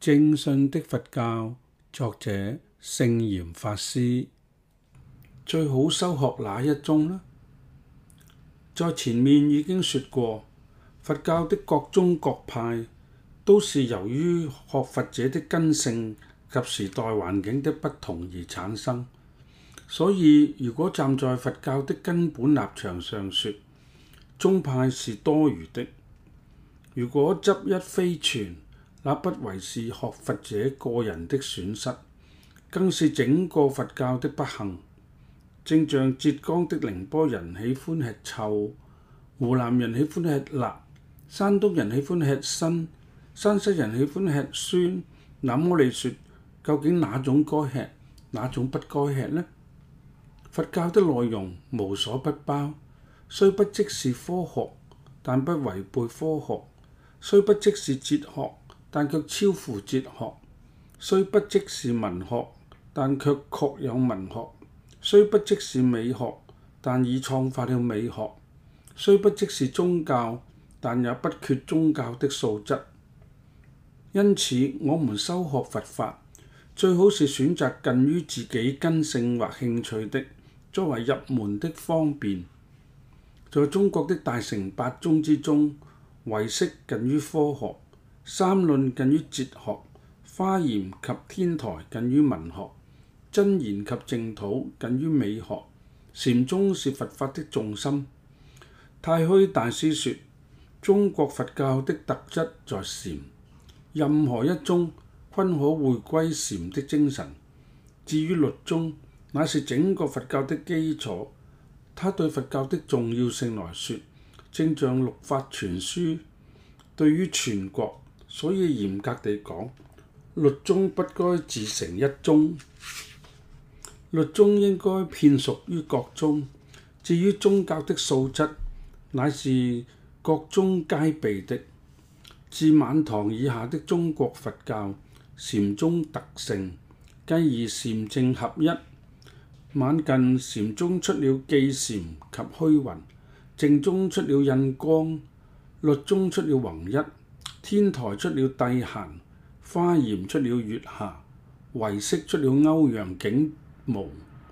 正信的佛教，作者聖嚴法師。最好修學哪一宗呢？在前面已經說過，佛教的各宗各派都是由於學佛者的根性及時代環境的不同而產生。所以如果站在佛教的根本立場上說，宗派是多餘的。如果執一非全，那不為是學佛者個人的損失，更是整個佛教的不幸。正像浙江的寧波人喜歡吃臭，湖南人喜歡吃辣，山東人喜歡吃辛，山西人喜歡吃酸。那麼你說，究竟哪種該吃，哪種不該吃呢？佛教的內容無所不包，雖不即是科學，但不違背科學；雖不即是哲學，但卻超乎哲學；雖不即是文學，但卻確有文學；雖不即是美學，但已創發了美學；雖不即是宗教，但也不缺宗教的素質。因此，我們修學佛法，最好是選擇近於自己根性或興趣的，作為入門的方便。在中國的大乘八宗之中，唯識近於科學，三論近於哲學，華嚴及天台近於文學，真言及淨土近於美學。禪宗是佛法的重心。太虛大師說，中國佛教的特質在禪，任何一宗均可回歸禪的精神。至於律宗，乃是整個佛教的基礎。它對佛教的重要性來說，正像六法全書對於全國。所以嚴格地講，律宗不該自成一宗，律宗應該遍屬於各宗。至於宗教的素質，乃是各宗皆備的。自晚唐以下的中國佛教，禪宗特盛，繼而禪淨合一。晚近禪宗出了寄禪及虛雲，淨宗出了印光，律宗出了弘一，天台出了諦閑，華嚴出了月下，唯識出了歐陽竟無。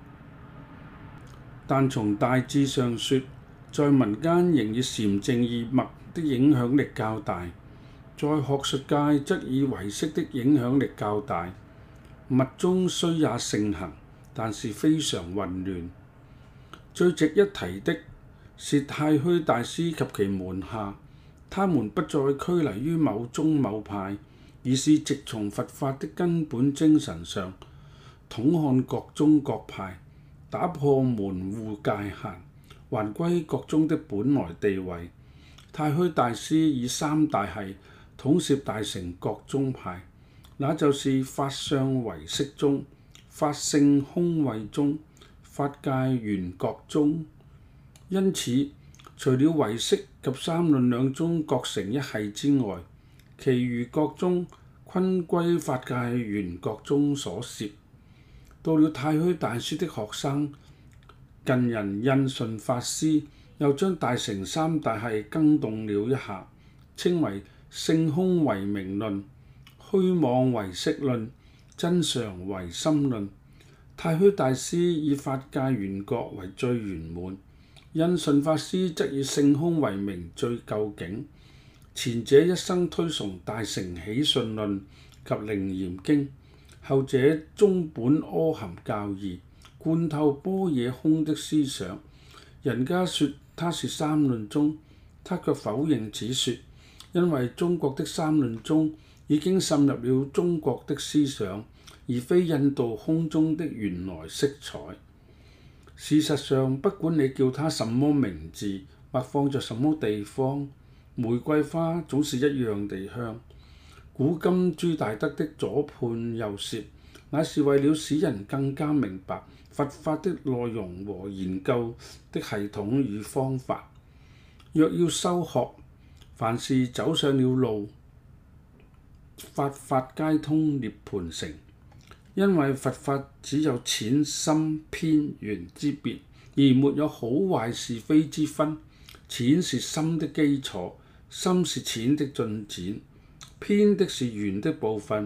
但從大致上說，在民間仍以禪淨二脈的影響力較大，在學術界則以唯識的影響力較大。密宗雖也盛行，但是非常混亂。最值一提的是太虛大師及其門下，他們不再拘泥於某宗某派，而是直從佛法的根本精神上，統看各宗各派，打破門戶界限，還歸各宗的本來地位。太虛大師以三大系統攝大乘各宗派，那就是法相唯識宗、法性空慧宗、法界緣覺宗。因此，除了唯識及三論兩宗各成一系之外，其餘各宗均歸法界緣覺宗所攝。到了太虛大師的學生近人印順法師，又將大乘三大系更動了一下，稱為性空唯名論、虛妄唯識論、真常唯心論。太虛大師以法界緣覺為最圓滿，印順法師則以性空為名最究竟。前者一生推崇大乘起信論及楞嚴經，後者宗本阿含教義，貫透般若空的思想。人家說他是三論宗，他卻否認此說，因為中國的三論宗已經滲入了中國的思想，而非印度空宗的原來色彩。事實上，不管你叫它什麼名字，或放在什麼地方，玫瑰花總是一樣地香。古今朱大德的左判右攝，乃是為了使人更加明白佛法的內容和研究的系統與方法。若要修學，凡是走上了路，法法皆通涅槃城。因為佛法只有淺深偏圓之別，而沒有好壞是非之分。淺是深的基礎，深是淺的進展，偏的是圓的部分，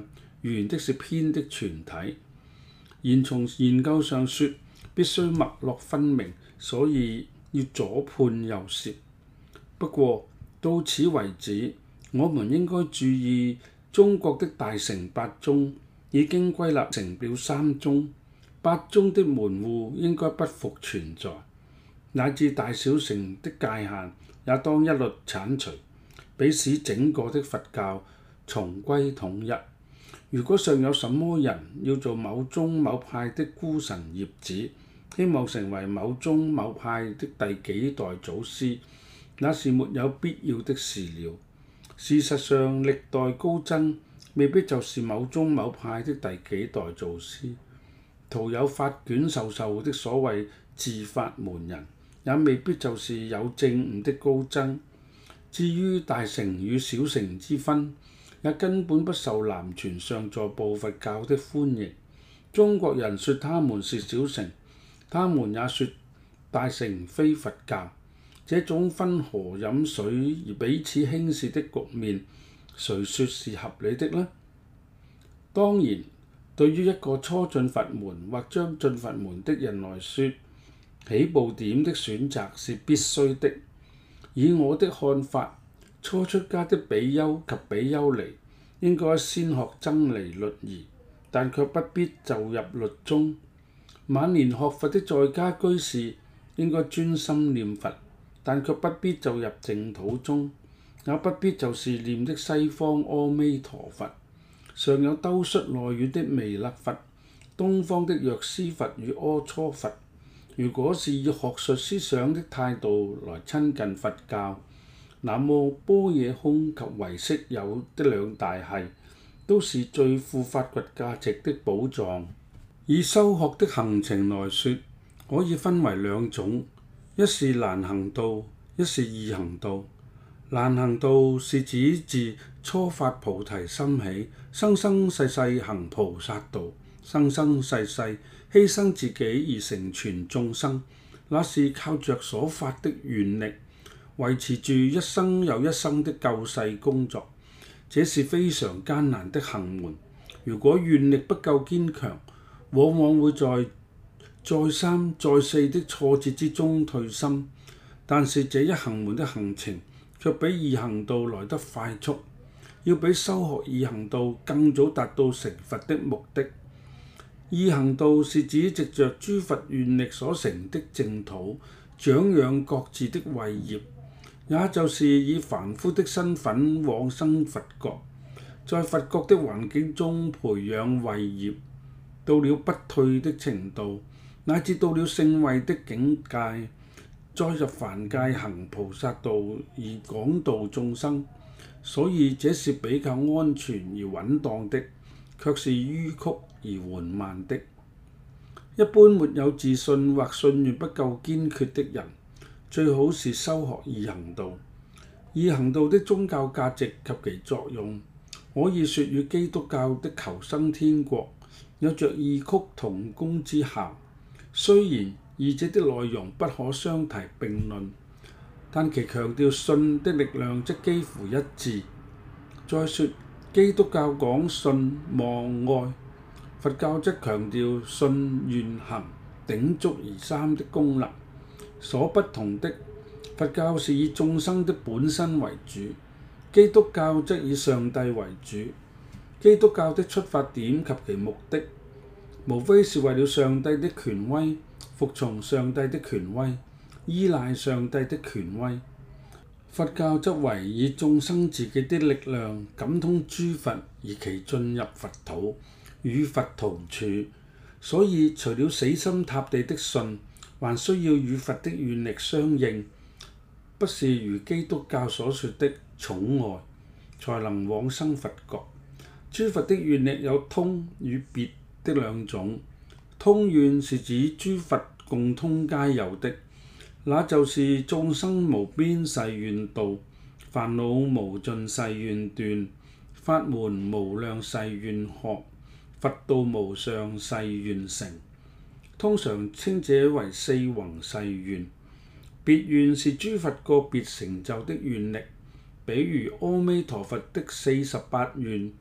圓的是偏的全體。然從研究上說，必須脈絡分明，所以要左判右攝。不過到此為止，我們應該注意，中國的大乘八宗已經歸納成了三宗，八宗的門戶應該不復存在，乃至大小乘的界限也當一律剷除，彼使整個的佛教重歸統一。如果尚有什麼人要做某宗某派的孤臣孽子，希望成為某宗某派的第幾代祖師，那是沒有必要的事了。事實上，歷代高僧未必就是某宗某派的第幾代祖師，徒有發卷授受的所謂自法門人，也未必就是有證悟的高僧。至於大乘與小乘之分，也根本不受南傳上座部佛教的歡迎。中國人說他們是小乘，他們也說大乘非佛教。這種分河飲水而彼此輕視的局面，誰說是合理的呢？當然，對於一個初進佛門或將進佛門的人來說，起步點的選擇是必須的。以我的看法，初出家的比丘及比丘尼應該先學僧尼律儀，但卻不必就入律宗。晚年學佛的在家居士應該專心念佛，但卻不必就入淨土宗，也不必就是念的西方阿彌陀佛。尚有兜率內院的彌勒佛，東方的藥師佛與阿閦佛。如果是以學術思想的態度來親近佛教，那麼般若空及唯識有的兩大系，都是最富發掘價值的寶藏。以修學的行程來說，可以分為兩種，一是難行道，一是易行道。難行道是指自初發菩提心起，生生世世行菩薩道，生生世世犧牲自己而成全眾生，那是靠着所發的願力，維持住一生又一生的救世工作。這是非常艱難的行門，如果願力不夠堅強，往往會在再三再四的挫折之中退心。但是這一行門的行程卻比易行道來得快速，要比修學易行道更早達到成佛的目的。易行道是指藉着諸佛願力所成的淨土，長養各自的慧業，也就是以凡夫的身份往生佛國，在佛國的環境中培養慧業，到了不退的程度，乃至到了聖慧的境界，再入凡界行菩薩道而廣度眾生。所以這是比較安全而穩當的，卻是迂曲而緩慢的。一般沒有自信或信願不夠堅決的人，最好是修學易行道。易行道的宗教價值及其作用，可以說與基督教的求生天國有着異曲同工之效。雖然二者的內容不可相提並論，但其強調信的力量則幾乎一致。再說，基督教講信望愛，佛教則強調信願行鼎足而三的功能。所不同的，佛教是以眾生的本身為主，基督教則以上帝為主。基督教的出發點及其目的，無非是為了上帝的權威，服從上帝的權威，依賴上帝的權威。佛教則為以眾生自己的力量感通諸佛，而其進入佛土，與佛同處。所以除了死心塌地的信，還需要與佛的願力相應，不是如基督教所說的寵愛，才能往生佛國。諸佛的願力有通與別的兩種。通願是指諸佛共通皆有的，那就是眾生無邊誓願度，煩惱無盡誓願斷，法門無量誓願學，佛道無上誓願成。通常稱這為四弘誓願。別願是諸佛個別成就的願力，比如阿彌陀佛的48願，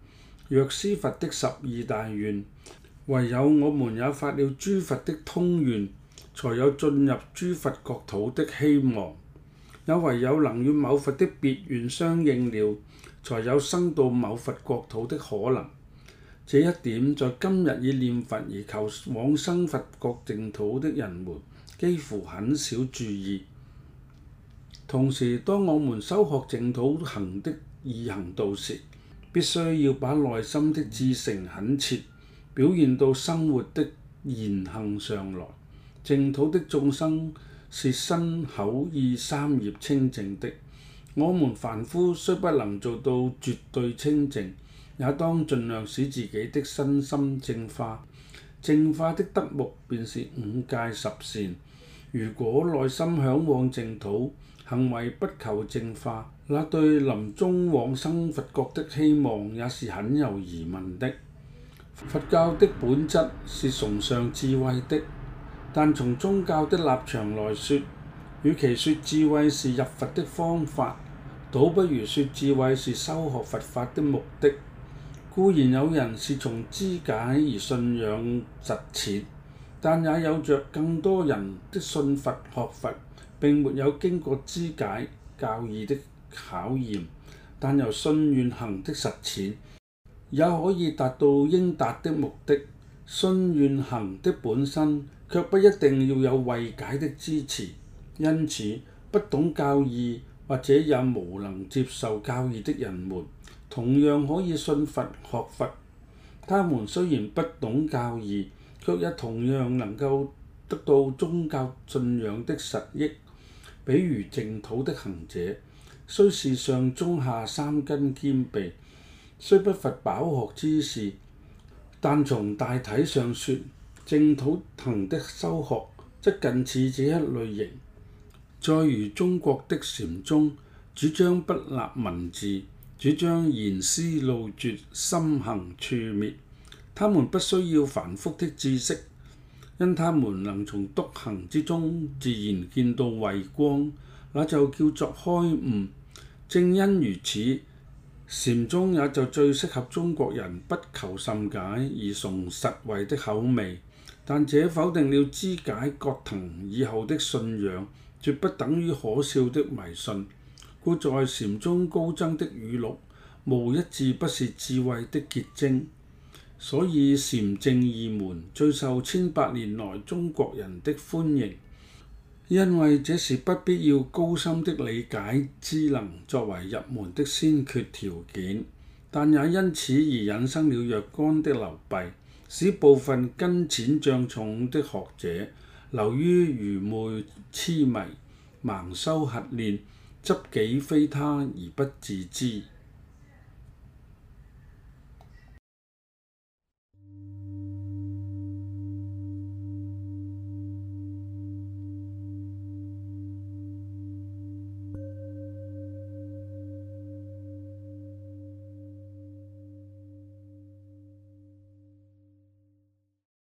藥師佛的12大願，唯有我們也發了諸佛的通願，才有進入諸佛國土的希望。也唯有能與某佛的別願相應了，才有生到某佛國土的可能。這一點在今日以念佛而求往生佛國淨土的人們幾乎很少注意。同時，當我們修學淨土行的易行道時，必須要把內心的至誠懇切表現到生活的言行上來。淨土的眾生是身口意三業清淨的，我們凡夫雖不能做到絕對清淨，也當盡量使自己的身心淨化。淨化的德目便是五戒十善。如果內心嚮往淨土，行為不求淨化，那對臨終往生佛國的希望也是很有疑問的。佛教的本質是崇尚智慧的，但從宗教的立場來說，與其說智慧是入佛的方法，倒不如說智慧是修學佛法的目的。固然有人是從知解而信仰實踐，但也有着更多人的信佛學佛並沒有經過知解教義的考驗，但由信願行的實踐也可以達到應達的目的。信願行的本身卻不一定要有慧解的支持，因此不懂教義或者也無能接受教義的人們，同樣可以信佛學佛。他們雖然不懂教義，卻也同樣能夠得到宗教信仰的實益。比如淨土的行者，雖是上中下三根兼備，雖不乏飽學之士，但從大體上說，淨土行的修學則近似這一類型。再如中國的禪宗，主張不立文字，主張言思路絕，心行處滅。他們不需要繁複的知識，因他們能從篤行之中自然見到慧光，那就叫做開悟。正因如此，禪宗也就最適合中國人不求甚解而崇實惠的口味。但這否定了知解覺騰以後的信仰，絕不等於可笑的迷信。故在禪宗高僧的語錄，無一字不是智慧的結晶。所以禪淨二門最受1800年來中國人的歡迎，因為這是不必要高深的理解知能作為入門的先決條件，但也因此而引生了若干的流弊，使部分根淺障重的學者流於愚昧癡迷，盲修瞎練，執己非他而不自知。